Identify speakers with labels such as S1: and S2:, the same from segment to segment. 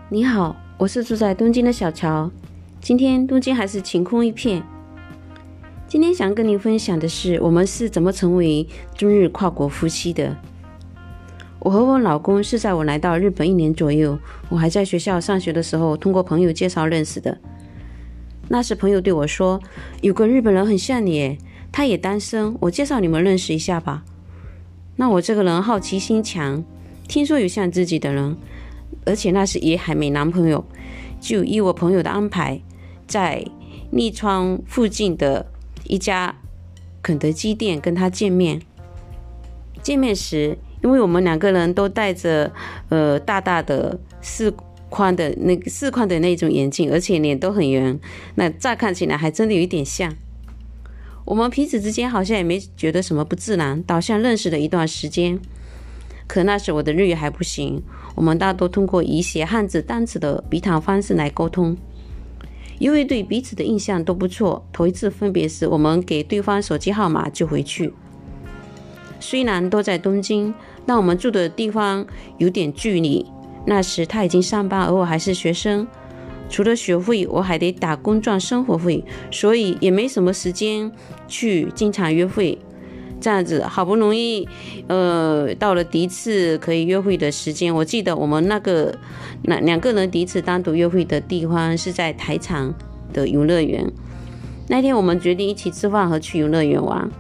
S1: 你好，我是住在东京的小乔。今天东京还是晴空一片。今天想跟你分享的是，我们是怎么成为中日跨国夫妻的。我和我老公是在我来到日本1年左右，我还在学校上学的时候，通过朋友介绍认识的。那时朋友对我说，有个日本人很像你耶，他也单身，我介绍你们认识一下吧。那我这个人好奇心强，听说有像自己的人，而且那时也还没男朋友，就依我朋友的安排，在立川附近的一家肯德基店跟他见面。见面时，因为我们两个人都戴着大大的四宽的那种眼镜，而且脸都很圆，那乍看起来还真的有一点像。我们彼此之间好像也没觉得什么不自然，倒像认识了一段时间。可那时我的日语还不行，我们大多通过以写汉字单词的笔谈方式来沟通。因为对彼此的印象都不错，头一次分别时，我们给对方手机号码就回去。虽然都在东京，但我们住的地方有点距离。那时他已经上班，而我还是学生，除了学费，我还得打工赚生活费，所以也没什么时间去经常约会。这样子好不容易到了第一次可以约会的时间。我记得我们两个人第一次单独约会的地方是在台场的游乐园。那天我们决定一起吃饭和去游乐园玩。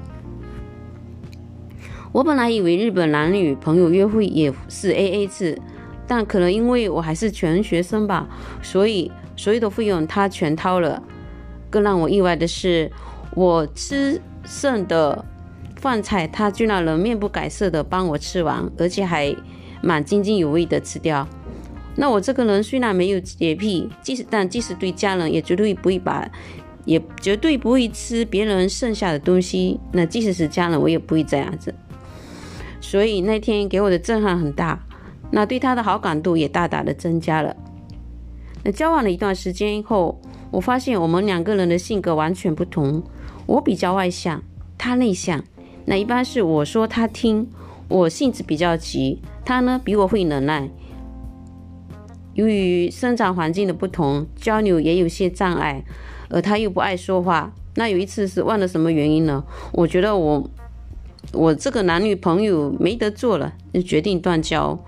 S1: 我本来以为日本男女朋友约会也是 AA 制，但可能因为我还是全学生吧，所以所有的费用他全掏了。更让我意外的是，我吃剩的饭菜他居然能面不改色的帮我吃完，而且还蛮津津有味的吃掉。那我这个人虽然没有洁癖，但即使对家人也绝对不会吃别人剩下的东西，那即使是家人我也不会这样子。所以那天给我的震撼很大，那对他的好感度也大大的增加了。那交往了一段时间后，我发现我们两个人的性格完全不同。我比较外向，他内向。那一般是我说他听，我性子比较急，他呢比我会忍耐。由于生长环境的不同，交流也有些障碍，而他又不爱说话。那有一次是忘了什么原因了，我觉得我这个男女朋友没得做了，就决定断交。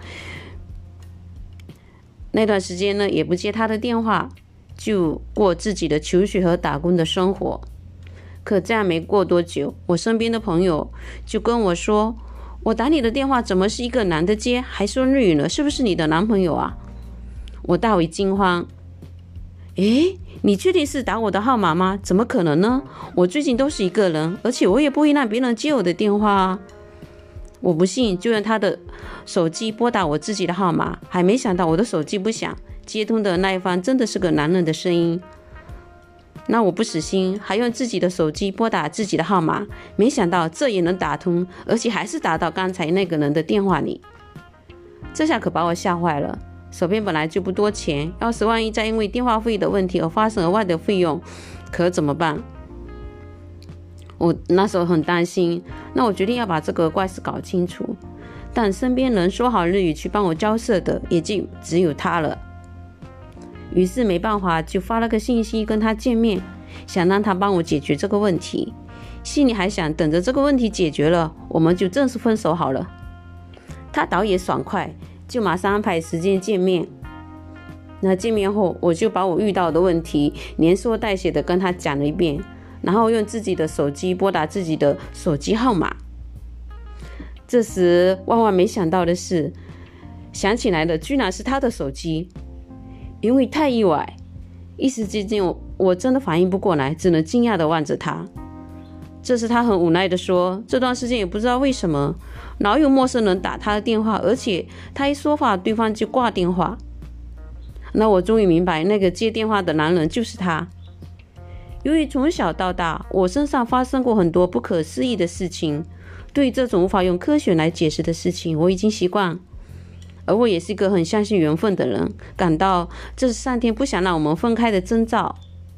S1: 那段时间呢，也不接他的电话，就过自己的求学和打工的生活。可这样没过多久，我身边的朋友就跟我说，我打你的电话怎么是一个男的接，还说日语呢，是不是你的男朋友啊？我大为惊慌。诶，你确定是打我的号码吗？怎么可能呢？我最近都是一个人，而且我也不会让别人接我的电话啊。我不信，就用他的手机拨打我自己的号码，还没想到我的手机不响，接通的那一方真的是个男人的声音。那我不死心，还用自己的手机拨打自己的号码，没想到这也能打通，而且还是打到刚才那个人的电话里。这下可把我吓坏了，手边本来就不多钱，要是万一再因为电话费的问题而发生额外的费用，可怎么办？我那时候很担心，那我决定要把这个怪事搞清楚。但身边能说好日语去帮我交涉的，也就只有他了。于是没办法，就发了个信息跟他见面，想让他帮我解决这个问题。心里还想，等着这个问题解决了，我们就正式分手好了。他倒也爽快，就马上安排时间见面。那见面后，我就把我遇到的问题连说带写的跟他讲了一遍，然后用自己的手机拨打自己的手机号码。这时万万没想到的是，想起来的居然是他的手机。因为太意外，一时之间我真的反应不过来，只能惊讶地望着他。这时他很无奈地说，这段时间也不知道为什么老有陌生人打他的电话，而且他一说话对方就挂电话。那我终于明白，那个接电话的男人就是他。由于从小到大我身上发生过很多不可思议的事情，对于这种无法用科学来解释的事情我已经习惯，而我也是一个很相信缘分的人，感到这是上天不想让我们分开的征兆。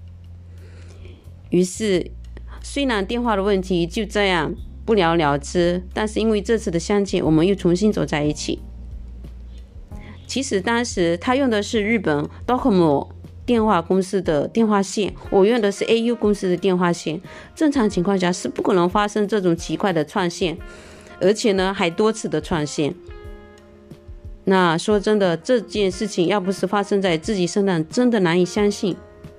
S1: 于是虽然电话的问题就这样不了了之，但是因为这次的相见，我们又重新走在一起。 其实当时他用的是日本 Docomo 电话公司的电话线，我用的是 AU 公司的电话线。正常情况下是不可能发生这种奇怪的串线，而且呢还多次的串线。那说真的，这件事情要不是发生在自己身上，真的难以相信。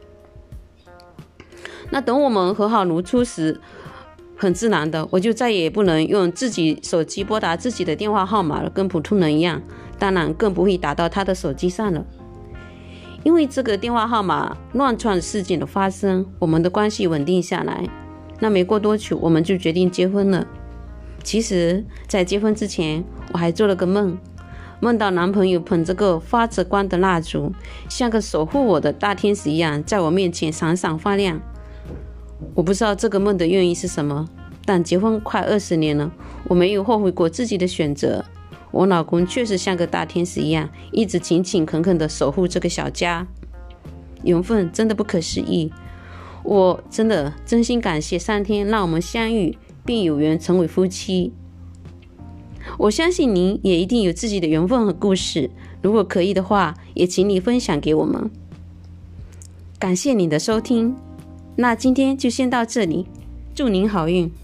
S1: 那等我们和好如初时，很自然的，我就再也不能用自己手机拨打自己的电话号码了，跟普通人一样，当然更不会打到他的手机上了。因为这个电话号码乱串事件的发生，我们的关系稳定下来。那没过多久，我们就决定结婚了。其实在结婚之前，我还做了个梦，梦到男朋友捧着个发着光的蜡烛，像个守护我的大天使一样，在我面前闪闪发亮。我不知道这个梦的用意是什么，但结婚快20年了，我没有后悔过自己的选择。我老公确实像个大天使一样，一直勤勤恳恳地守护这个小家。缘分真的不可思议，我真心感谢上天让我们相遇，并有缘成为夫妻。我相信您也一定有自己的缘分和故事，如果可以的话，也请你分享给我们。感谢你的收听，那今天就先到这里，祝您好运。